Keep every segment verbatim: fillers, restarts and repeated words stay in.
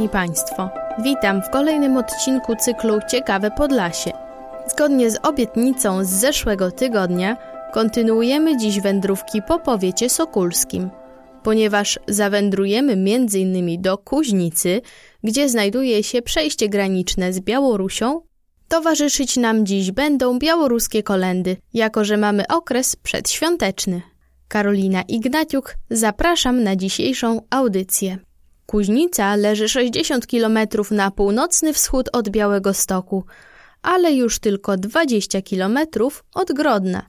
Szanowni Państwo, witam w kolejnym odcinku cyklu Ciekawe Podlasie. Zgodnie z obietnicą z zeszłego tygodnia kontynuujemy dziś wędrówki po powiecie sokólskim, ponieważ zawędrujemy między innymi do Kuźnicy, gdzie znajduje się przejście graniczne z Białorusią. Towarzyszyć nam dziś będą białoruskie kolędy, jako że mamy okres przedświąteczny. Karolina Ignaciuk, zapraszam na dzisiejszą audycję. Kuźnica leży sześćdziesiąt kilometrów na północny wschód od Białegostoku, ale już tylko dwadzieścia kilometrów od Grodna.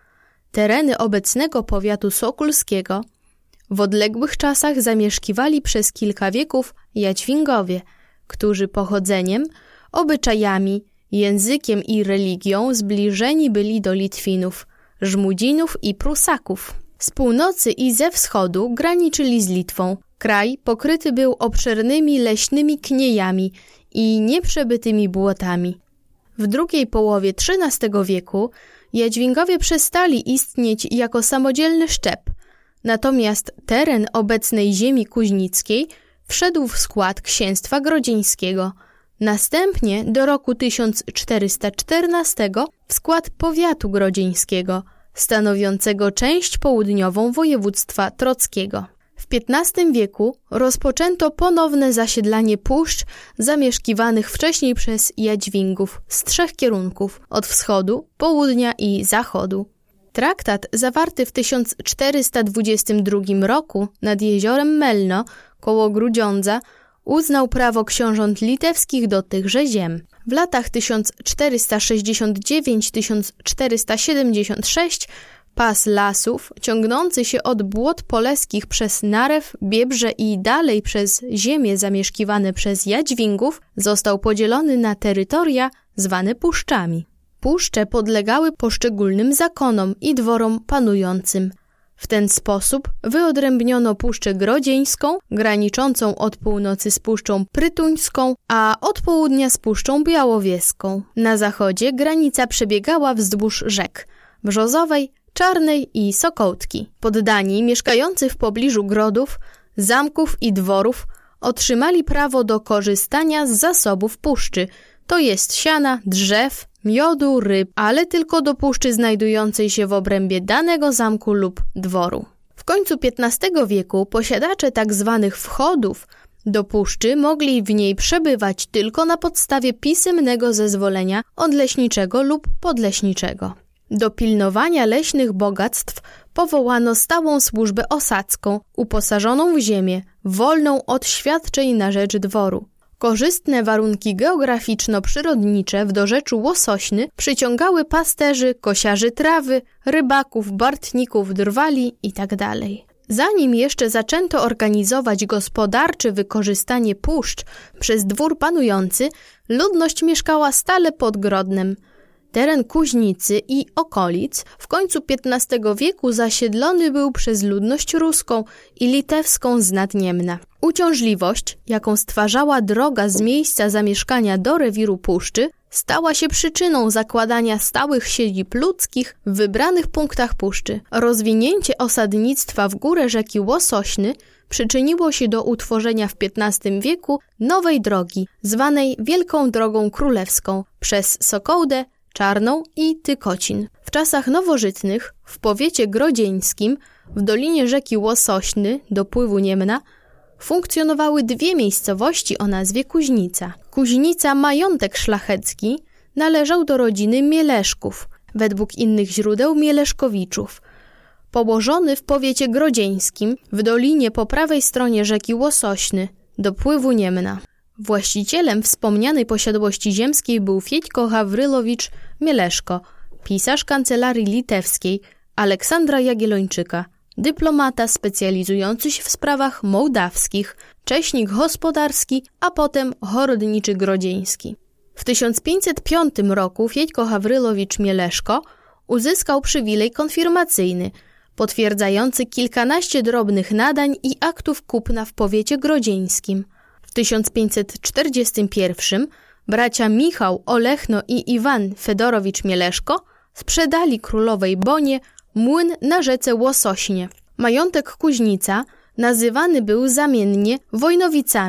Tereny obecnego powiatu sokólskiego w odległych czasach zamieszkiwali przez kilka wieków Jadźwingowie, którzy pochodzeniem, obyczajami, językiem i religią zbliżeni byli do Litwinów, Żmudzinów i Prusaków. Z północy i ze wschodu graniczyli z Litwą. Kraj pokryty był obszernymi leśnymi kniejami i nieprzebytymi błotami. W drugiej połowie trzynastego wieku Jadźwingowie przestali istnieć jako samodzielny szczep, natomiast teren obecnej ziemi kuźnickiej wszedł w skład księstwa grodzieńskiego. Następnie do roku tysiąc czterysta czternastego w skład powiatu grodzieńskiego, stanowiącego część południową województwa trockiego. W piętnastym wieku rozpoczęto ponowne zasiedlanie puszcz zamieszkiwanych wcześniej przez Jadźwingów z trzech kierunków – od wschodu, południa i zachodu. Traktat zawarty w tysiąc czterysta dwudziestym drugim roku nad jeziorem Melno koło Grudziądza uznał prawo książąt litewskich do tychże ziem. W latach tysiąc czterysta sześćdziesiąt dziewięć do tysiąc czterysta siedemdziesiąt sześć pas lasów ciągnący się od Błot Poleskich przez Narew, Biebrze i dalej przez ziemie zamieszkiwane przez Jadźwingów został podzielony na terytoria zwane puszczami. Puszcze podlegały poszczególnym zakonom i dworom panującym. W ten sposób wyodrębniono Puszczę Grodzieńską, graniczącą od północy z Puszczą Prytuńską, a od południa z Puszczą Białowieską. Na zachodzie granica przebiegała wzdłuż rzek Brzozowej, Czarnej i Sokołtki. Poddani mieszkający w pobliżu grodów, zamków i dworów otrzymali prawo do korzystania z zasobów puszczy, to jest siana, drzew, miodu, ryb, ale tylko do puszczy znajdującej się w obrębie danego zamku lub dworu. W końcu piętnastego wieku posiadacze tzw. wchodów do puszczy mogli w niej przebywać tylko na podstawie pisemnego zezwolenia od leśniczego lub podleśniczego. Do pilnowania leśnych bogactw powołano stałą służbę osadzką, uposażoną w ziemię, wolną od świadczeń na rzecz dworu. Korzystne warunki geograficzno-przyrodnicze w dorzeczu Łosośny przyciągały pasterzy, kosiarzy trawy, rybaków, bartników, drwali itd. Zanim jeszcze zaczęto organizować gospodarcze wykorzystanie puszcz przez dwór panujący, ludność mieszkała stale pod Grodnem. Teren Kuźnicy i okolic w końcu piętnastego wieku zasiedlony był przez ludność ruską i litewską z Nadniemna. Uciążliwość, jaką stwarzała droga z miejsca zamieszkania do rewiru puszczy, stała się przyczyną zakładania stałych siedzib ludzkich w wybranych punktach puszczy. Rozwinięcie osadnictwa w górę rzeki Łosośny przyczyniło się do utworzenia w piętnastym wieku nowej drogi, zwanej Wielką Drogą Królewską, przez Sokołdę, Czarną i Tykocin. W czasach nowożytnych w powiecie grodzieńskim w dolinie rzeki Łosośny, dopływu Niemna, funkcjonowały dwie miejscowości o nazwie Kuźnica. Kuźnica majątek szlachecki należał do rodziny Mieleszków, według innych źródeł Mieleszkowiczów. Położony w powiecie grodzieńskim w dolinie po prawej stronie rzeki Łosośny, dopływu Niemna. Właścicielem wspomnianej posiadłości ziemskiej był Fiećko Hawrylowicz Mieleszko, pisarz kancelarii litewskiej Aleksandra Jagiellończyka, dyplomata specjalizujący się w sprawach mołdawskich, cześnik gospodarski, a potem horodniczy grodzieński. W tysiąc pięćset piątym roku Fiećko Hawrylowicz Mieleszko uzyskał przywilej konfirmacyjny, potwierdzający kilkanaście drobnych nadań i aktów kupna w powiecie grodzieńskim. W tysiąc pięćset czterdziestym pierwszym bracia Michał, Olechno i Iwan Fedorowicz Mieleszko sprzedali królowej Bonie młyn na rzece Łosośnie. Majątek Kuźnica nazywany był zamiennie Wojnowicami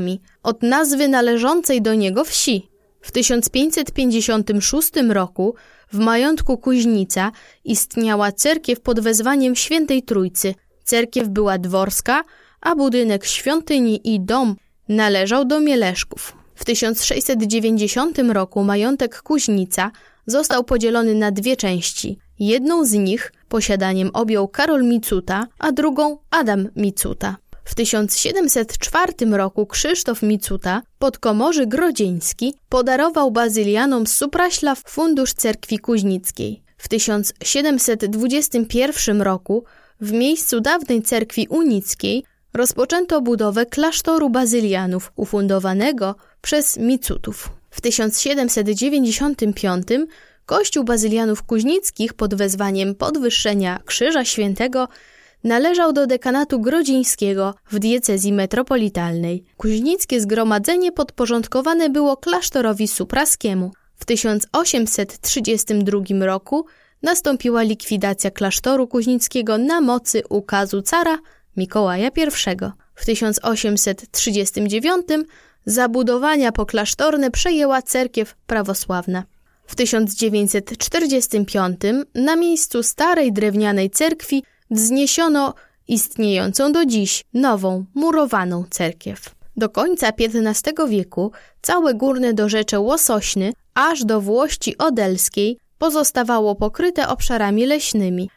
od nazwy należącej do niego wsi. W tysiąc pięćset pięćdziesiątym szóstym roku w majątku Kuźnica istniała cerkiew pod wezwaniem Świętej Trójcy. Cerkiew była dworska, a budynek świątyni i dom należał do Mieleszków. W tysiąc sześćset dziewięćdziesiątym roku majątek Kuźnica został podzielony na dwie części. Jedną z nich posiadaniem objął Karol Micuta, a drugą Adam Micuta. W tysiąc siedemset czwartym roku Krzysztof Micuta, podkomorzy grodzieński, podarował bazylianom z Supraślaw fundusz cerkwi kuźnickiej. W tysiąc siedemset dwudziestym pierwszym roku w miejscu dawnej cerkwi unickiej rozpoczęto budowę klasztoru bazylianów ufundowanego przez Micutów. W tysiąc siedemset dziewięćdziesiątym piątym kościół bazylianów kuźnickich pod wezwaniem podwyższenia Krzyża Świętego należał do dekanatu grodzieńskiego w diecezji metropolitalnej. Kuźnickie zgromadzenie podporządkowane było klasztorowi supraskiemu. W tysiąc osiemset trzydziestym drugim roku nastąpiła likwidacja klasztoru kuźnickiego na mocy ukazu cara Mikołaja pierwszego. W tysiąc osiemset trzydziestym dziewiątym zabudowania poklasztorne przejęła cerkiew prawosławna. W tysiąc dziewięćset czterdziestym piątym na miejscu starej drewnianej cerkwi wzniesiono istniejącą do dziś nową, murowaną cerkiew. Do końca piętnastego wieku całe górne dorzecze Łosośny aż do Włości Odelskiej pozostawało pokryte obszarami leśnymi.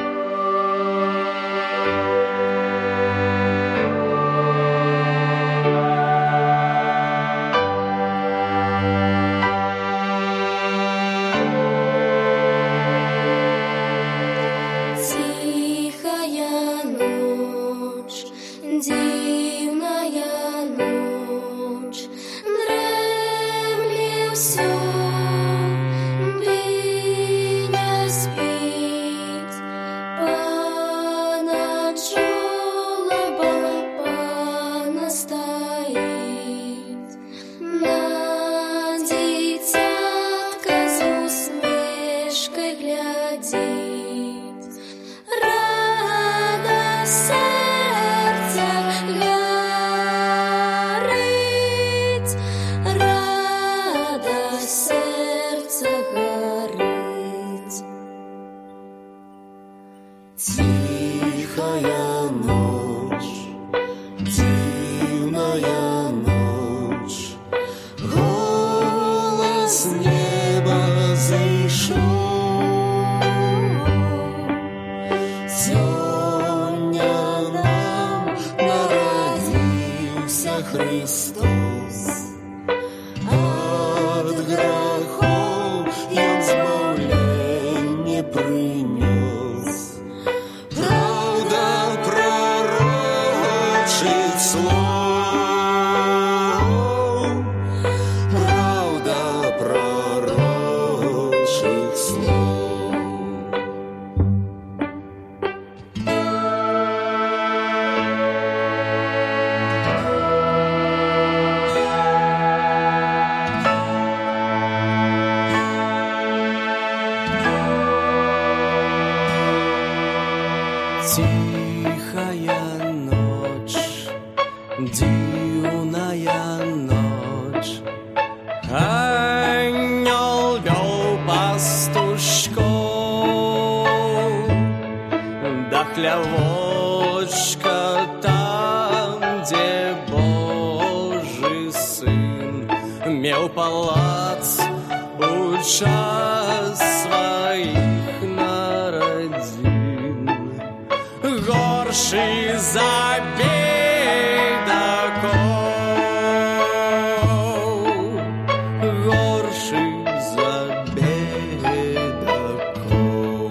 Тихая ночь, дивная ночь, ангел вел пастушков, да хлявочка там, где Божий Сын мел палац у час своих народин. Горший за бедаков, горший за бедаков.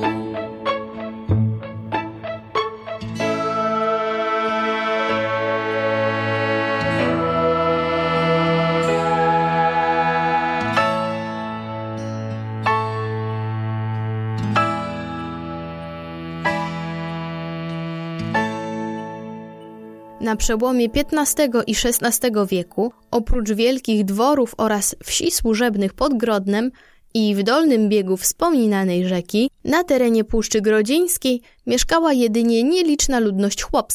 Na przełomie piętnastego i szesnastego wieku, oprócz wielkich dworów oraz wsi służebnych pod Grodnem i w dolnym biegu wspominanej rzeki, na terenie Puszczy Grodzieńskiej mieszkała jedynie nieliczna ludność chłopska.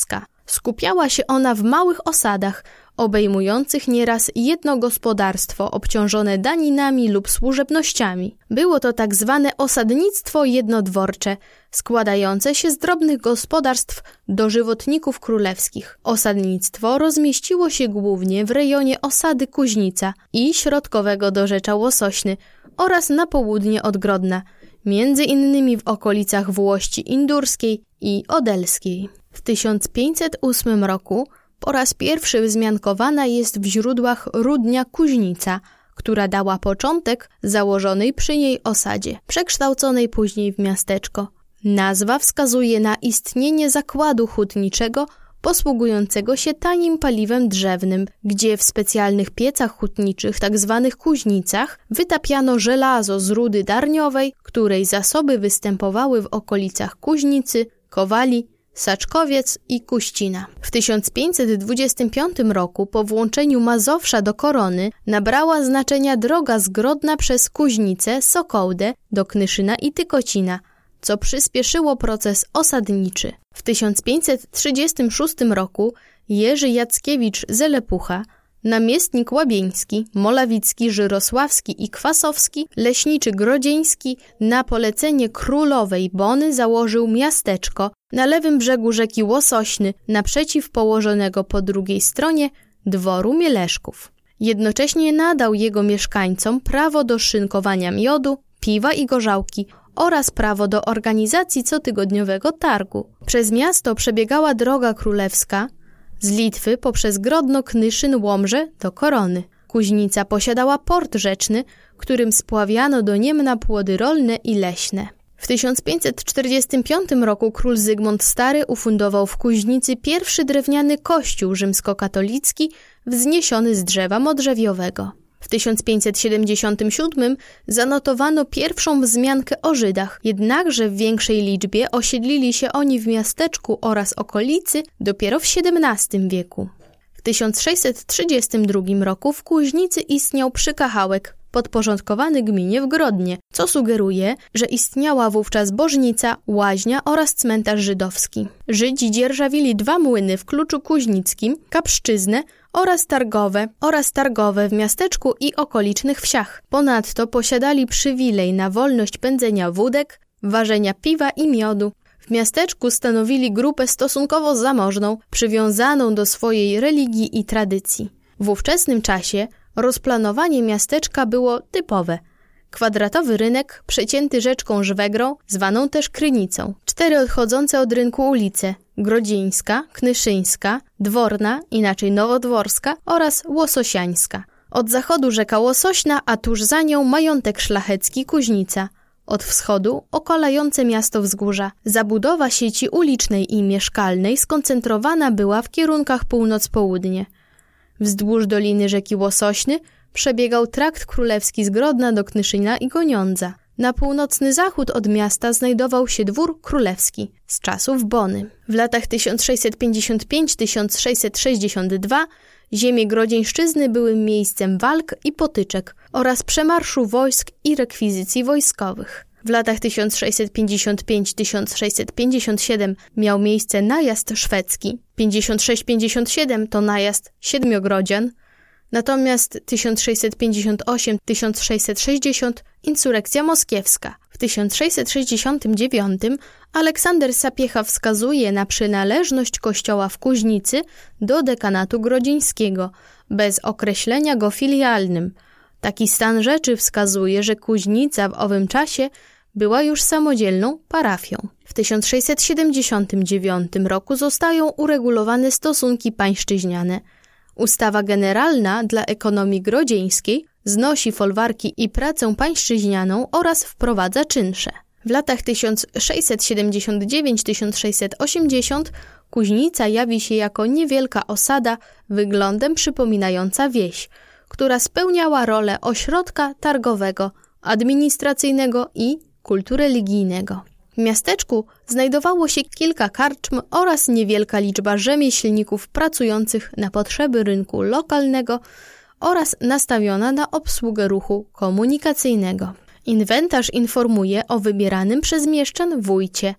Skupiała się ona w małych osadach, obejmujących nieraz jedno gospodarstwo obciążone daninami lub służebnościami. Było to tak zwane osadnictwo jednodworcze, składające się z drobnych gospodarstw dożywotników królewskich. Osadnictwo rozmieściło się głównie w rejonie osady Kuźnica i środkowego dorzecza Łosośny oraz na południe od Grodna, między innymi w okolicach Włości Indurskiej i Odelskiej. W tysiąc pięćset ósmym roku po raz pierwszy wzmiankowana jest w źródłach Rudnia Kuźnica, która dała początek założonej przy niej osadzie, przekształconej później w miasteczko. Nazwa wskazuje na istnienie zakładu hutniczego posługującego się tanim paliwem drzewnym, gdzie w specjalnych piecach hutniczych, tak zwanych kuźnicach, wytapiano żelazo z rudy darniowej, której zasoby występowały w okolicach Kuźnicy, Kowali, Saczkowiec i Kuścina. W tysiąc pięćset dwudziestym piątym roku po włączeniu Mazowsza do korony nabrała znaczenia droga z Grodna przez Kuźnicę, Sokołdę do Knyszyna i Tykocina, co przyspieszyło proces osadniczy. W tysiąc pięćset trzydziestym szóstym roku Jerzy Jackiewicz Zelepucha, namiestnik łabieński, molawicki, żyrosławski i kwasowski, leśniczy grodzieński, na polecenie królowej Bony założył miasteczko na lewym brzegu rzeki Łosośny, naprzeciw położonego po drugiej stronie dworu Mieleszków. Jednocześnie nadał jego mieszkańcom prawo do szynkowania miodu, piwa i gorzałki oraz prawo do organizacji cotygodniowego targu. Przez miasto przebiegała droga królewska z Litwy poprzez Grodno, Knyszyn, Łomżę do Korony. Kuźnica posiadała port rzeczny, którym spławiano do Niemna płody rolne i leśne. W tysiąc pięćset czterdziestym piątym roku król Zygmunt Stary ufundował w Kuźnicy pierwszy drewniany kościół rzymskokatolicki wzniesiony z drzewa modrzewiowego. W tysiąc pięćset siedemdziesiątym siódmym zanotowano pierwszą wzmiankę o Żydach, jednakże w większej liczbie osiedlili się oni w miasteczku oraz okolicy dopiero w siedemnastym wieku. W tysiąc sześćset trzydziestym drugim roku w Kuźnicy istniał przykachałek podporządkowany gminie w Grodnie, co sugeruje, że istniała wówczas bożnica, łaźnia oraz cmentarz żydowski. Żydzi dzierżawili dwa młyny w Kluczu Kuźnickim, Kapszczyznę oraz targowe, oraz targowe w miasteczku i okolicznych wsiach. Ponadto posiadali przywilej na wolność pędzenia wódek, ważenia piwa i miodu. W miasteczku stanowili grupę stosunkowo zamożną, przywiązaną do swojej religii i tradycji. W ówczesnym czasie rozplanowanie miasteczka było typowe. Kwadratowy rynek przecięty rzeczką Żwegrą, zwaną też Krynicą. Cztery odchodzące od rynku ulice: Grodzieńska, Knyszyńska, Dworna, inaczej Nowodworska oraz Łososiańska. Od zachodu rzeka Łosośna, a tuż za nią majątek szlachecki Kuźnica. Od wschodu okalające miasto wzgórza. Zabudowa sieci ulicznej i mieszkalnej skoncentrowana była w kierunkach północ-południe. Wzdłuż doliny rzeki Łosośny przebiegał trakt królewski z Grodna do Knyszyna i Goniądza. Na północny zachód od miasta znajdował się dwór królewski z czasów Bony. W latach tysiąc sześćset pięćdziesiąt pięć do tysiąc sześćset sześćdziesiąt dwa ziemie Grodzieńszczyzny były miejscem walk i potyczek oraz przemarszu wojsk i rekwizycji wojskowych. W latach tysiąc sześćset pięćdziesiąt pięć do tysiąc sześćset pięćdziesiąt siedem miał miejsce najazd szwedzki, pięćdziesiąt sześć do pięćdziesiąt siedem to najazd Siedmiogrodzian, natomiast tysiąc sześćset pięćdziesiąt osiem do tysiąc sześćset sześćdziesiąt insurekcja moskiewska. W tysiąc sześćset sześćdziesiątym dziewiątym Aleksander Sapiecha wskazuje na przynależność kościoła w Kuźnicy do dekanatu grodzieńskiego, bez określenia go filialnym. Taki stan rzeczy wskazuje, że Kuźnica w owym czasie była już samodzielną parafią. W tysiąc sześćset siedemdziesiątym dziewiątym roku zostają uregulowane stosunki pańszczyźniane. Ustawa generalna dla ekonomii grodzieńskiej znosi folwarki i pracę pańszczyźnianą oraz wprowadza czynsze. W latach tysiąc sześćset siedemdziesiąt dziewięć do tysiąc sześćset osiemdziesiąt Kuźnica jawi się jako niewielka osada wyglądem przypominająca wieś, która spełniała rolę ośrodka targowego, administracyjnego i kultu religijnego. W miasteczku znajdowało się kilka karczm oraz niewielka liczba rzemieślników pracujących na potrzeby rynku lokalnego oraz nastawiona na obsługę ruchu komunikacyjnego. Inwentarz informuje o wybieranym przez mieszczan wójcie.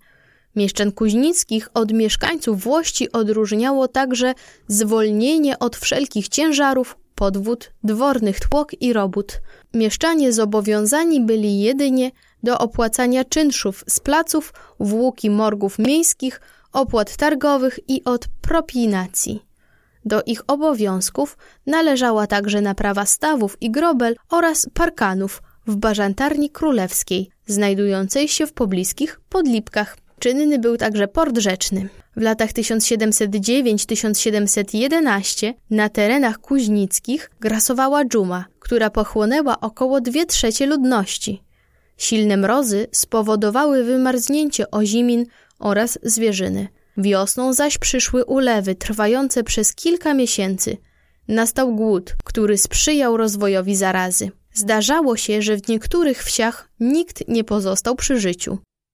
Mieszczan kuźnickich od mieszkańców Włości odróżniało także zwolnienie od wszelkich ciężarów, podwód, dwornych tłok i robót. Mieszczanie zobowiązani byli jedynie do opłacania czynszów z placów, włók i morgów miejskich, opłat targowych i od propinacji. Do ich obowiązków należała także naprawa stawów i grobel oraz parkanów w Bażantarni Królewskiej, znajdującej się w pobliskich Podlipkach. Czynny był także port rzeczny. W latach tysiąc siedemset dziewięć do tysiąc siedemset jedenaście na terenach kuźnickich grasowała dżuma, która pochłonęła około dwie trzecie ludności. Silne mrozy spowodowały wymarznięcie ozimin oraz zwierzyny. Wiosną zaś przyszły ulewy trwające przez kilka miesięcy. Nastał głód, który sprzyjał rozwojowi zarazy. Zdarzało się, że w niektórych wsiach nikt nie pozostał przy życiu.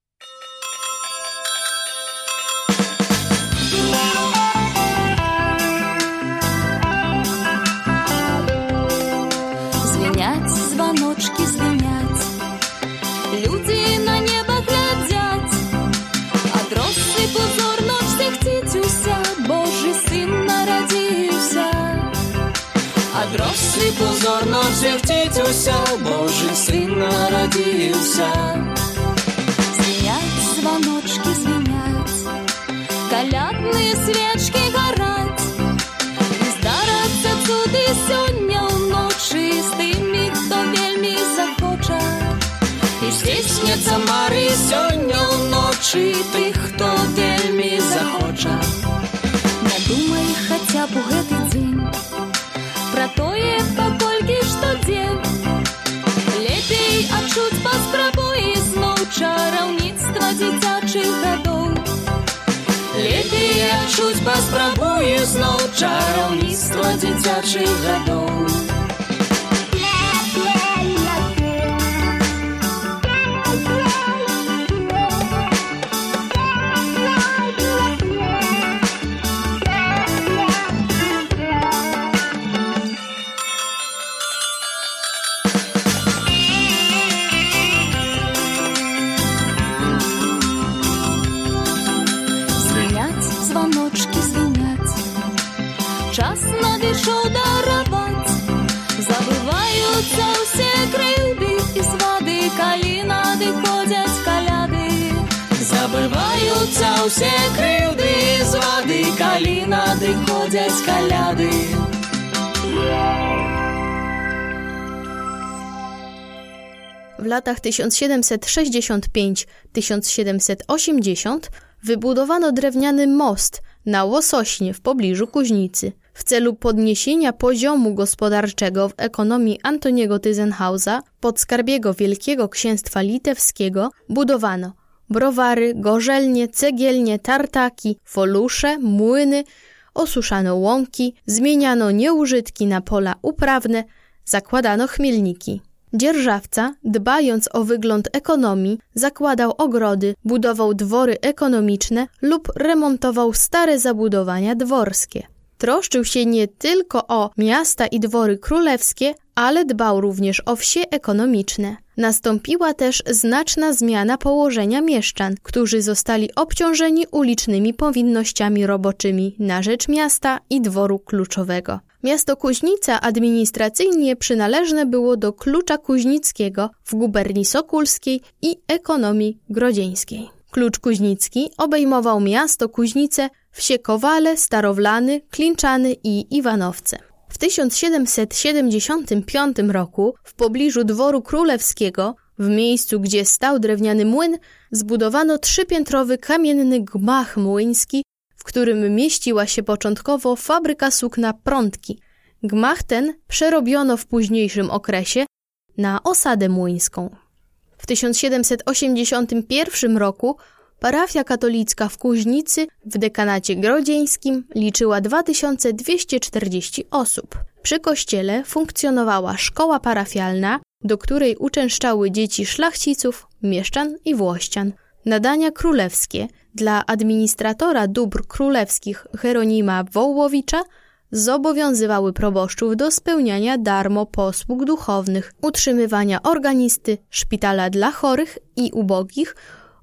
Звенять звоночки, звенять, люди на небо глядят, от росы позорно всех тітюся, Божий син народився. От росы позорно всех тітюся, Божий син народився. Звенять звоночки, звенять, колядные свечки горать, і здараться цуди сьогодні вночі з тими, хто вельми захоче. І здійсняться мари сьогодні вночі тих, хто вельми захоче. Не думай хотя б у гэты дзень про тое, паколькі што дзе. Лепей адчуць паспрабуй зноў чараўніцтва дзіцячых гадоў. Лепей адчуць паспрабуй зноў чараўніцтва дзіцячых гадоў. Звоночки звенять, час надышоў дараваць, забываюцца ўсе крыўды і свады, калі надыходзяць каляды. Забываюцца ўсе крыўды і звады, калі надыходзяць каляды. W latach tysiąc siedemset sześćdziesiąt pięć do tysiąc siedemset osiemdziesiąt wybudowano drewniany most na Łosośnie w pobliżu Kuźnicy. W celu podniesienia poziomu gospodarczego w ekonomii Antoniego Tyzenhausa, podskarbiego Wielkiego Księstwa Litewskiego, budowano browary, gorzelnie, cegielnie, tartaki, folusze, młyny, osuszano łąki, zmieniano nieużytki na pola uprawne, zakładano chmielniki. Dzierżawca, dbając o wygląd ekonomii, zakładał ogrody, budował dwory ekonomiczne lub remontował stare zabudowania dworskie. Troszczył się nie tylko o miasta i dwory królewskie, ale dbał również o wsie ekonomiczne. Nastąpiła też znaczna zmiana położenia mieszczan, którzy zostali obciążeni ulicznymi powinnościami roboczymi na rzecz miasta i dworu kluczowego. Miasto Kuźnica administracyjnie przynależne było do Klucza Kuźnickiego w guberni Sokulskiej i ekonomii grodzieńskiej. Klucz Kuźnicki obejmował miasto Kuźnice, wsie Kowale, Starowlany, Klinczany i Iwanowce. W tysiąc siedemset siedemdziesiątym piątym roku w pobliżu dworu królewskiego, w miejscu gdzie stał drewniany młyn, zbudowano trzypiętrowy kamienny gmach młyński, w którym mieściła się początkowo fabryka sukna Prądki. Gmach ten przerobiono w późniejszym okresie na osadę młyńską. W tysiąc siedemset osiemdziesiątym pierwszym roku parafia katolicka w Kuźnicy w dekanacie grodzieńskim liczyła dwa tysiące dwieście czterdzieści osób. Przy kościele funkcjonowała szkoła parafialna, do której uczęszczały dzieci szlachciców, mieszczan i włościan. Nadania królewskie dla administratora dóbr królewskich Hieronima Wołowicza zobowiązywały proboszczów do spełniania darmo posług duchownych, utrzymywania organisty, szpitala dla chorych i ubogich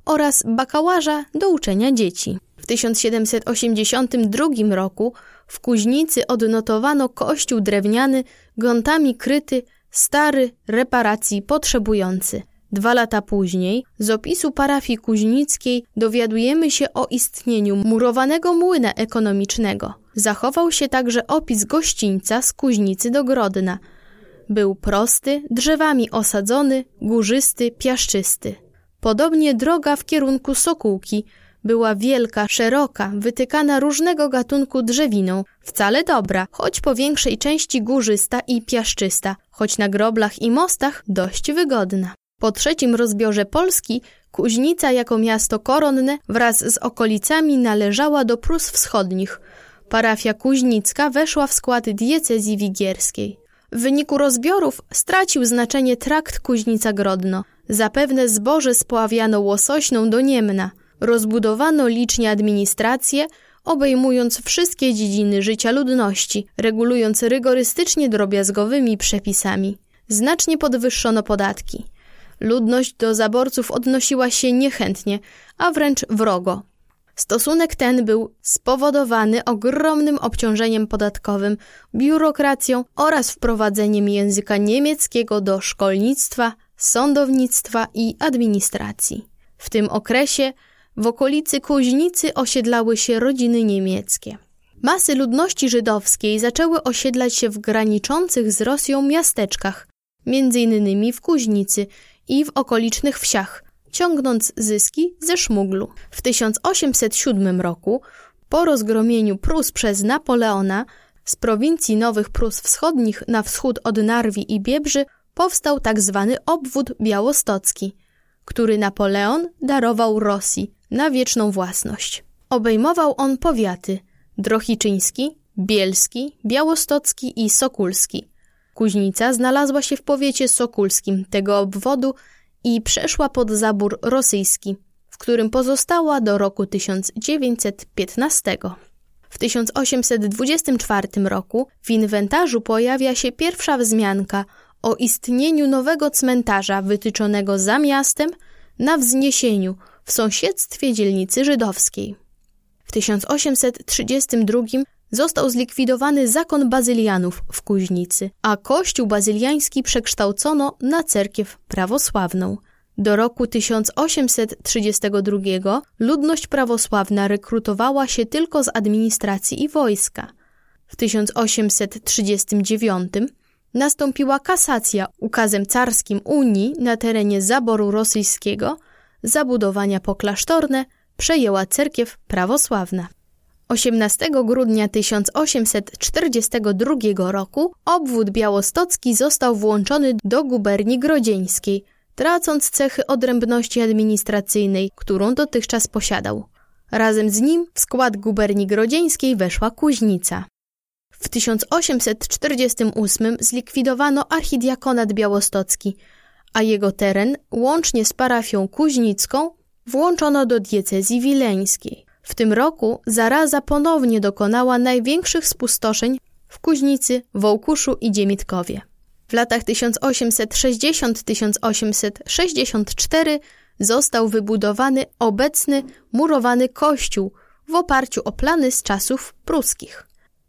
oraz bakałaża do uczenia dzieci. W tysiąc siedemset osiemdziesiątym drugim roku w Kuźnicy odnotowano kościół drewniany, grądami kryty, stary, reparacji potrzebujący. Dwa lata później z opisu parafii kuźnickiej dowiadujemy się o istnieniu murowanego młyna ekonomicznego. Zachował się także opis gościńca z Kuźnicy do Grodna. Był prosty, drzewami osadzony, górzysty, piaszczysty. Podobnie droga w kierunku Sokółki była wielka, szeroka, wytykana różnego gatunku drzewiną, wcale dobra, choć po większej części górzysta i piaszczysta, choć na groblach i mostach dość wygodna. Po trzecim rozbiorze Polski Kuźnica jako miasto koronne wraz z okolicami należała do Prus Wschodnich. Parafia kuźnicka weszła w skład diecezji wigierskiej. W wyniku rozbiorów stracił znaczenie trakt Kuźnica-Grodno. Zapewne zboże spławiano Łosośną do Niemna. Rozbudowano licznie administrację, obejmując wszystkie dziedziny życia ludności, regulując rygorystycznie drobiazgowymi przepisami. Znacznie podwyższono podatki. Ludność do zaborców odnosiła się niechętnie, a wręcz wrogo. Stosunek ten był spowodowany ogromnym obciążeniem podatkowym, biurokracją oraz wprowadzeniem języka niemieckiego do szkolnictwa, sądownictwa i administracji. W tym okresie w okolicy Kuźnicy osiedlały się rodziny niemieckie. Masy ludności żydowskiej zaczęły osiedlać się w graniczących z Rosją miasteczkach, między innymi w Kuźnicy i w okolicznych wsiach, ciągnąc zyski ze szmuglu. W tysiąc osiemset siódmym roku, po rozgromieniu Prus przez Napoleona, z prowincji Nowych Prus Wschodnich na wschód od Narwi i Biebrzy powstał tak zwany obwód białostocki, który Napoleon darował Rosji na wieczną własność. Obejmował on powiaty drohiczyński, bielski, białostocki i sokólski. Kuźnica znalazła się w powiecie sokólskim tego obwodu i przeszła pod zabór rosyjski, w którym pozostała do roku tysiąc dziewięćset piętnastego. W tysiąc osiemset dwudziestym czwartym roku w inwentarzu pojawia się pierwsza wzmianka o istnieniu nowego cmentarza wytyczonego za miastem na wzniesieniu w sąsiedztwie dzielnicy żydowskiej. W tysiąc osiemset trzydziestym drugim został zlikwidowany zakon bazylianów w Kuźnicy, a kościół bazyliański przekształcono na cerkiew prawosławną. Do roku tysiąc osiemset trzydziestego drugiego ludność prawosławna rekrutowała się tylko z administracji i wojska. W tysiąc osiemset trzydziestym dziewiątym nastąpiła kasacja ukazem carskim Unii na terenie zaboru rosyjskiego, zabudowania poklasztorne przejęła cerkiew prawosławna. osiemnastego grudnia tysiąc osiemset czterdziestego drugiego roku obwód białostocki został włączony do guberni grodzieńskiej, tracąc cechy odrębności administracyjnej, którą dotychczas posiadał. Razem z nim w skład guberni grodzieńskiej weszła Kuźnica. W tysiąc osiemset czterdziestym ósmym zlikwidowano archidiakonat białostocki, a jego teren, łącznie z parafią kuźnicką, włączono do diecezji wileńskiej. W tym roku zaraza ponownie dokonała największych spustoszeń w Kuźnicy, Wołkuszu i Dziemitkowie. W latach tysiąc osiemset sześćdziesiątym do tysiąc osiemset sześćdziesiątego czwartego został wybudowany obecny murowany kościół w oparciu o plany z czasów pruskich.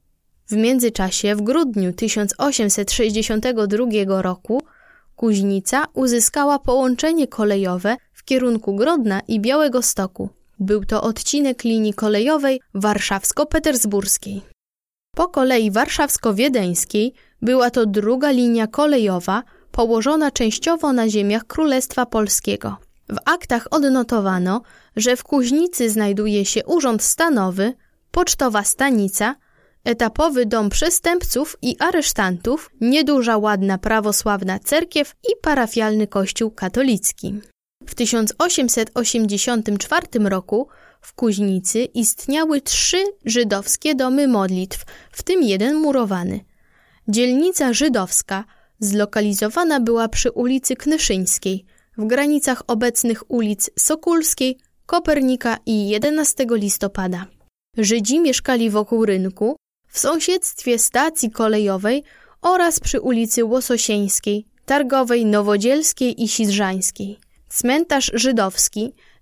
W międzyczasie w grudniu tysiąc osiemset sześćdziesiątego drugiego roku Kuźnica uzyskała połączenie kolejowe w kierunku Grodna i Białegostoku. Był to odcinek linii kolejowej warszawsko-petersburskiej. Po kolei warszawsko-wiedeńskiej była to druga linia kolejowa położona częściowo na ziemiach Królestwa Polskiego. W aktach odnotowano, że w Kuźnicy znajduje się urząd stanowy, pocztowa stanica, etapowy dom przestępców i aresztantów, nieduża ładna prawosławna cerkiew i parafialny kościół katolicki. W tysiąc osiemset osiemdziesiątym czwartym roku w Kuźnicy istniały trzy żydowskie domy modlitw, w tym jeden murowany. Dzielnica żydowska zlokalizowana była przy ulicy Knyszyńskiej, w granicach obecnych ulic Sokólskiej, Kopernika i jedenastego listopada. Żydzi mieszkali wokół rynku, w sąsiedztwie stacji kolejowej oraz przy ulicy Łososieńskiej, Targowej, Nowodzielskiej i Sidrzańskiej. Cmentarz żydowski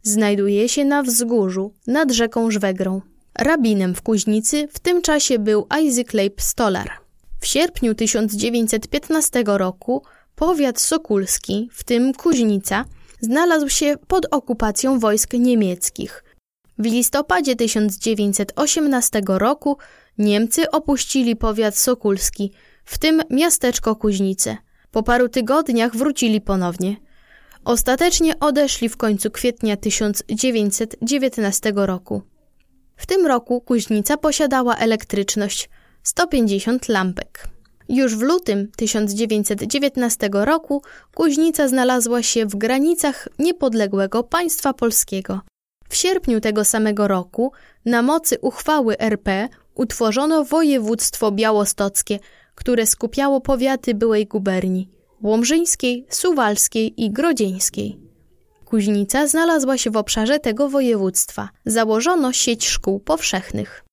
Znajduje się na wzgórzu, nad rzeką Żwegrą. Rabinem w Kuźnicy w tym czasie był Isaac Leib Stolar. W sierpniu tysiąc dziewięćset piętnastego roku powiat sokulski, w tym Kuźnica, znalazł się pod okupacją wojsk niemieckich. W listopadzie tysiąc dziewięćset osiemnastego roku Niemcy opuścili powiat sokulski, w tym miasteczko Kuźnice. Po paru tygodniach wrócili ponownie. Ostatecznie odeszli w końcu kwietnia tysiąc dziewięćset dziewiętnastego roku. W tym roku Kuźnica posiadała elektryczność sto pięćdziesiąt lampek. Już w lutym tysiąc dziewięćset dziewiętnastego roku Kuźnica znalazła się w granicach niepodległego państwa polskiego. W sierpniu tego samego roku na mocy uchwały R P utworzono województwo białostockie, które skupiało powiaty byłej guberni łomżyńskiej, suwalskiej i grodzieńskiej. Kuźnica znalazła się w obszarze tego województwa. Założono sieć szkół powszechnych.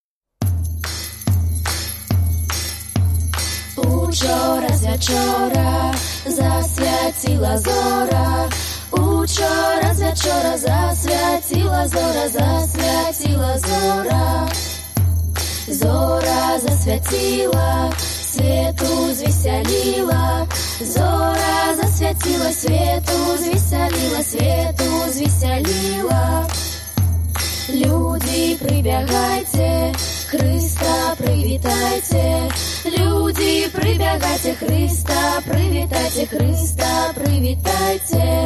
Учора з вечора засвятила зора, учора з вечора засвятила зора, засвятила зора. Зора засвятила, свету звеселила, зора засвятила, свету звеселила, свету звеселила. Люди, прибягайте, Христа привітайте, люди, прибягайте, Христа привітайте, Христа привітайте.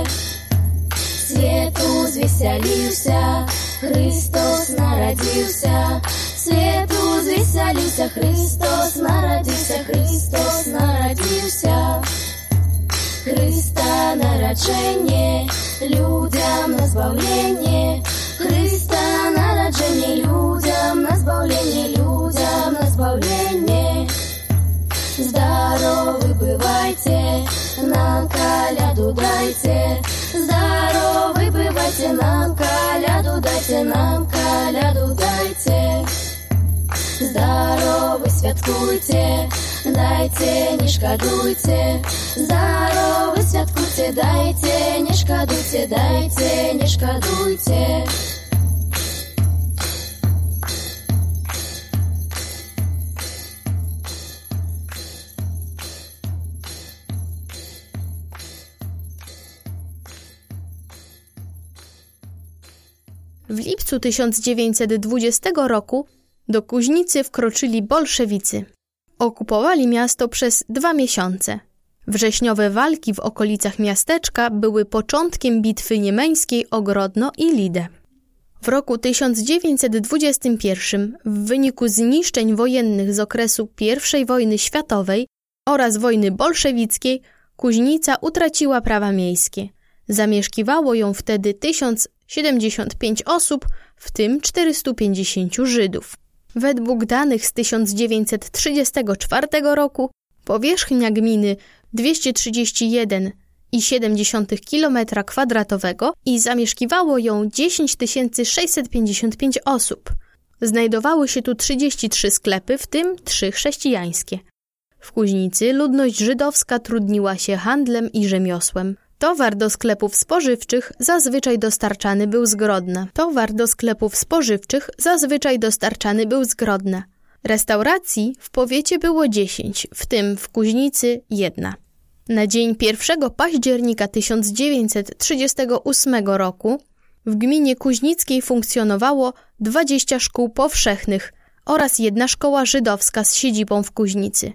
Свету звеселился, Христос народился, свету звеселился, Христос народился, Христос народился. Христа народжение, людям на збавление, Христа народжение, людям на збавление, людям на збавление. Здоровы бывайте, нам коляду дайте, здоровы бывайте, нам коляду дайте, нам коляду дайте. Здоровы святкуйте, дайте, не шкодуйте, здоровы святкуйте, дайте, не шкодуйте, дайте, не шкодуйте. W lipcu tysiąc dziewięćset dwudziestego roku do Kuźnicy wkroczyli bolszewicy. Okupowali miasto przez dwa miesiące. Wrześniowe walki w okolicach miasteczka były początkiem bitwy niemeńskiej o Grodno i Lidę. W roku tysiąc dziewięćset dwudziestym pierwszym w wyniku zniszczeń wojennych z okresu pierwszej wojny światowej oraz wojny bolszewickiej Kuźnica utraciła prawa miejskie. Zamieszkiwało ją wtedy tysiąc siedemdziesiąt pięć osób, w tym czterystu pięćdziesięciu Żydów. Według danych z tysiąc dziewięćset trzydziestego czwartego roku powierzchnia gminy dwieście trzydzieści jeden przecinek siedem kilometra kwadratowego i zamieszkiwało ją dziesięć tysięcy sześćset pięćdziesiąt pięć osób. Znajdowały się tu trzydzieści trzy sklepy, w tym trzy chrześcijańskie. W Kuźnicy ludność żydowska trudniła się handlem i rzemiosłem. Towar do sklepów spożywczych zazwyczaj dostarczany był z Grodna. Towar do sklepów spożywczych zazwyczaj dostarczany był z Grodna. Restauracji w powiecie było dziesięć, w tym w Kuźnicy jedna. Na dzień pierwszego października tysiąc dziewięćset trzydziestego ósmego roku w gminie kuźnickiej funkcjonowało dwadzieścia szkół powszechnych oraz jedna szkoła żydowska z siedzibą w Kuźnicy.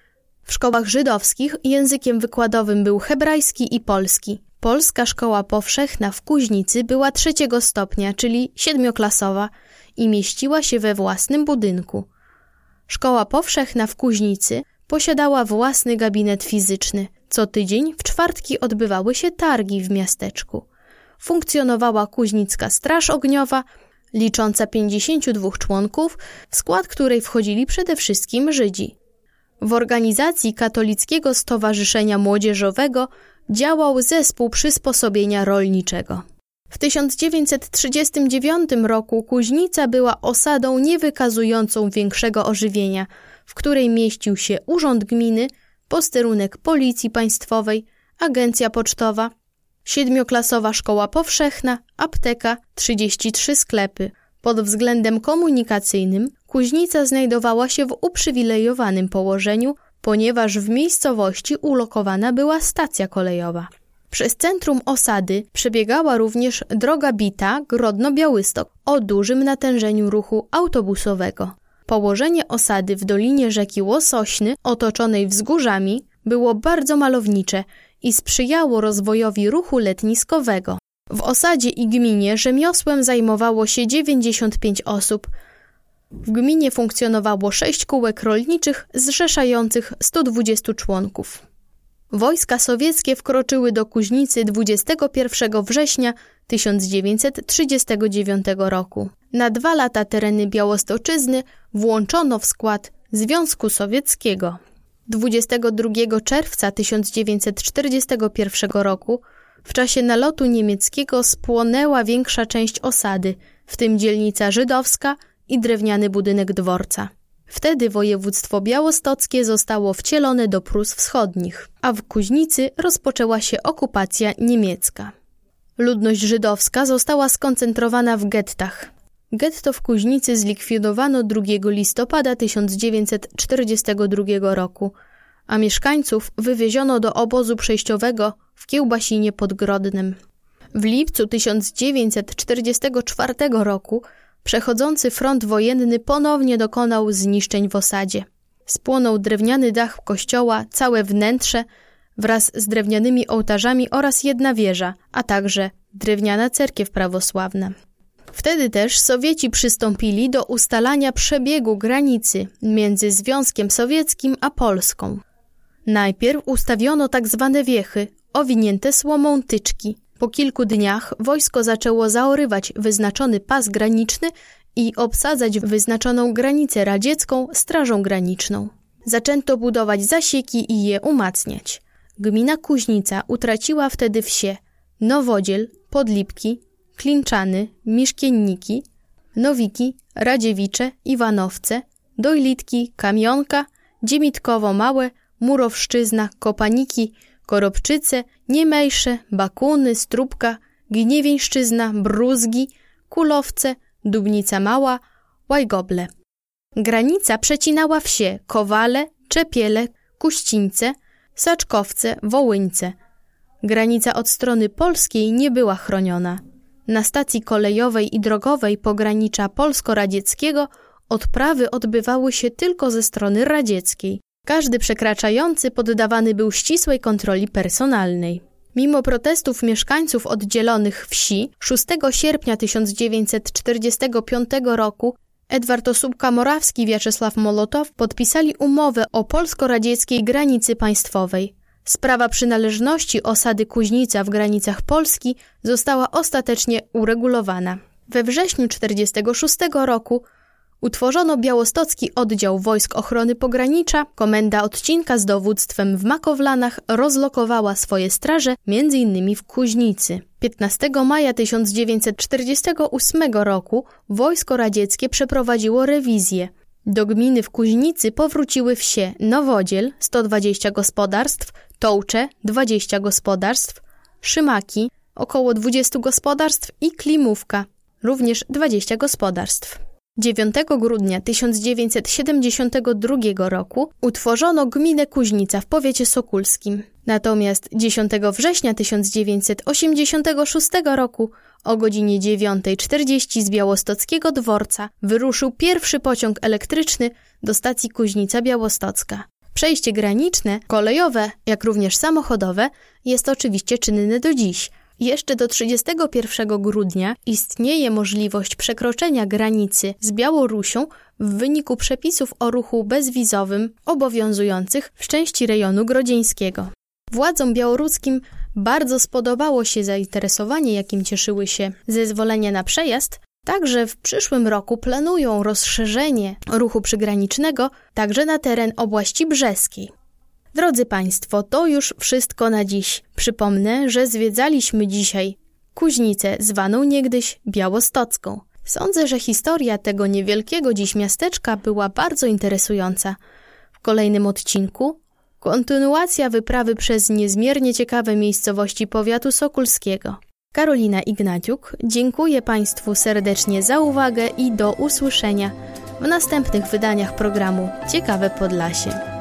W szkołach żydowskich językiem wykładowym był hebrajski i polski. Polska szkoła powszechna w Kuźnicy była trzeciego stopnia, czyli siedmioklasowa i mieściła się we własnym budynku. Szkoła powszechna w Kuźnicy posiadała własny gabinet fizyczny. Co tydzień w czwartki odbywały się targi w miasteczku. Funkcjonowała Kuźnicka Straż Ogniowa, licząca pięćdziesięciu dwóch członków, w skład której wchodzili przede wszystkim Żydzi. W organizacji Katolickiego Stowarzyszenia Młodzieżowego działał Zespół Przysposobienia Rolniczego. W tysiąc dziewięćset trzydziestym dziewiątym roku Kuźnica była osadą nie wykazującą większego ożywienia, w której mieścił się Urząd Gminy, posterunek Policji Państwowej, Agencja Pocztowa, siedmioklasowa szkoła powszechna, apteka, trzydzieści trzy sklepy. Pod względem komunikacyjnym Kuźnica znajdowała się w uprzywilejowanym położeniu, ponieważ w miejscowości ulokowana była stacja kolejowa. Przez centrum osady przebiegała również droga bita Grodno-Białystok o dużym natężeniu ruchu autobusowego. Położenie osady w dolinie rzeki Łosośny, otoczonej wzgórzami, było bardzo malownicze i sprzyjało rozwojowi ruchu letniskowego. W osadzie i gminie rzemiosłem zajmowało się dziewięćdziesiąt pięć osób. W gminie funkcjonowało sześć kółek rolniczych zrzeszających sto dwudziestu członków. Wojska sowieckie wkroczyły do Kuźnicy dwudziestego pierwszego września tysiąc dziewięćset trzydziestego dziewiątego roku. Na dwa lata tereny Białostoczyzny włączono w skład Związku Sowieckiego. dwudziestego drugiego czerwca tysiąc dziewięćset czterdziestego pierwszego roku w czasie nalotu niemieckiego spłonęła większa część osady, w tym dzielnica żydowska i drewniany budynek dworca. Wtedy województwo białostockie zostało wcielone do Prus Wschodnich, a w Kuźnicy rozpoczęła się okupacja niemiecka. Ludność żydowska została skoncentrowana w gettach. Getto w Kuźnicy zlikwidowano drugiego listopada tysiąc dziewięćset czterdziestego drugiego roku, a mieszkańców wywieziono do obozu przejściowego w Kiełbasinie pod Grodnem. W lipcu tysiąc dziewięćset czterdziestego czwartego roku przechodzący front wojenny ponownie dokonał zniszczeń w osadzie. Spłonął drewniany dach kościoła, całe wnętrze wraz z drewnianymi ołtarzami oraz jedna wieża, a także drewniana cerkiew prawosławna. Wtedy też Sowieci przystąpili do ustalania przebiegu granicy między Związkiem Sowieckim a Polską. Najpierw ustawiono tak zwane wiechy, owinięte słomą tyczki. Po kilku dniach wojsko zaczęło zaorywać wyznaczony pas graniczny i obsadzać wyznaczoną granicę radziecką strażą graniczną. Zaczęto budować zasieki i je umacniać. Gmina Kuźnica utraciła wtedy wsie Nowodziel, Podlipki, Klinczany, Miszkienniki, Nowiki, Radziewicze, Iwanowce, Dojlitki, Kamionka, Dziemitkowo-Małe, Murowszczyzna, Kopaniki, Koropczyce, Niemejsze, Bakuny, Stróbka, Gniewieńszczyzna, Bruzgi, Kulowce, Dubnica Mała, Łajgoble. Granica przecinała wsie Kowale, Czepiele, Kuścińce, Saczkowce, Wołyńce. Granica od strony polskiej nie była chroniona. Na stacji kolejowej i drogowej pogranicza polsko-radzieckiego odprawy odbywały się tylko ze strony radzieckiej. Każdy przekraczający poddawany był ścisłej kontroli personalnej. Mimo protestów mieszkańców oddzielonych wsi, szóstego sierpnia tysiąc dziewięćset czterdziestego piątego roku Edward Osóbka-Morawski i Wiaczesław Molotow podpisali umowę o polsko-radzieckiej granicy państwowej. Sprawa przynależności osady Kuźnica w granicach Polski została ostatecznie uregulowana. We wrześniu tysiąc dziewięćset czterdziestego szóstego roku utworzono Białostocki Oddział Wojsk Ochrony Pogranicza. Komenda odcinka z dowództwem w Makowlanach rozlokowała swoje straże między innymi w Kuźnicy. piętnastego maja tysiąc dziewięćset czterdziestego ósmego roku wojsko radzieckie przeprowadziło rewizję. Do gminy w Kuźnicy powróciły wsie Nowodziel, sto dwadzieścia gospodarstw, Tołcze, dwadzieścia gospodarstw, Szymaki, około dwadzieścia gospodarstw i Klimówka, również dwadzieścia gospodarstw. dziewiątego grudnia tysiąc dziewięćset siedemdziesiątego drugiego roku utworzono gminę Kuźnica w powiecie sokólskim. Natomiast dziesiątego września tysiąc dziewięćset osiemdziesiątego szóstego roku o godzinie dziewiąta czterdzieści z białostockiego dworca wyruszył pierwszy pociąg elektryczny do stacji Kuźnica Białostocka. Przejście graniczne, kolejowe, jak również samochodowe jest oczywiście czynne do dziś. Jeszcze do trzydziestego pierwszego grudnia istnieje możliwość przekroczenia granicy z Białorusią w wyniku przepisów o ruchu bezwizowym obowiązujących w części rejonu grodzieńskiego. Władzom białoruskim bardzo spodobało się zainteresowanie, jakim cieszyły się zezwolenia na przejazd, także w przyszłym roku planują rozszerzenie ruchu przygranicznego także na teren obłaści brzeskiej. Drodzy Państwo, to już wszystko na dziś. Przypomnę, że zwiedzaliśmy dzisiaj Kuźnicę, zwaną niegdyś Białostocką. Sądzę, że historia tego niewielkiego dziś miasteczka była bardzo interesująca. W kolejnym odcinku Kontynuacja wyprawy przez niezmiernie ciekawe miejscowości powiatu sokólskiego. Karolina Ignaciuk, dziękuję Państwu serdecznie za uwagę i do usłyszenia w następnych wydaniach programu Ciekawe Podlasie.